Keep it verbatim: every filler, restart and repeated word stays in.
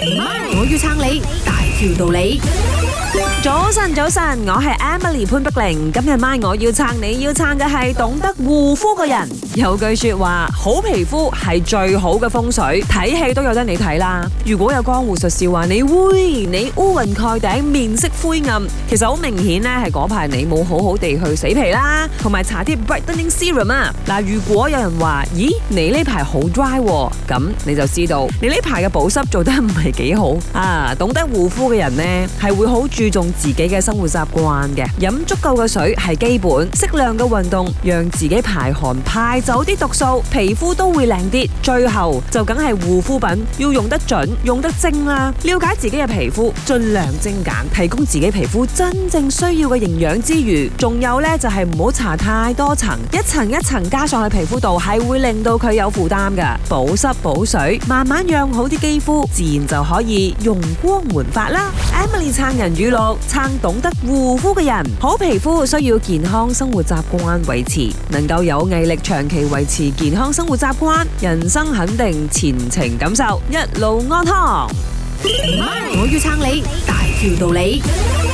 我要撐你，大條道理。 早晨，早晨，我係 Emily 潘碧玲。今日晚我要撐你，要撐嘅係懂得護膚嘅人。有句說話，好皮膚係最好嘅風水，睇戲都有得你睇啦。如果有江湖術士話你會你烏雲蓋頂，面色灰暗，其實好明顯咧係嗰排你冇好好地去死皮啦，同埋搽啲 brightening serum 啊。嗱，如果有人話，咦，你呢排好 dry，咁你就知道你呢排嘅保濕做得唔係幾好啊。懂得護膚嘅人呢，係會好注重自己嘅生活習慣嘅，飲足夠嘅水係基本，適量嘅運動讓自己排汗排走啲毒素，皮膚都會靚啲。最後就梗係護膚品要用得準，用得精啦。了解自己嘅皮膚，盡量精簡，提供自己皮膚真正需要嘅營養之餘，仲有呢就係唔好搽太多層，一層一層加上去皮膚度係會令到佢有負擔噶。保濕補水，慢慢養好啲肌膚，自然就可以容光煥發啦。Emily 撐人語錄，撐懂得護膚嘅人。好皮膚需要健康生活習慣維持，能夠有毅力長期維持健康生活習慣，人生肯定前程感受，一路安康。 我要撐你，大條道理。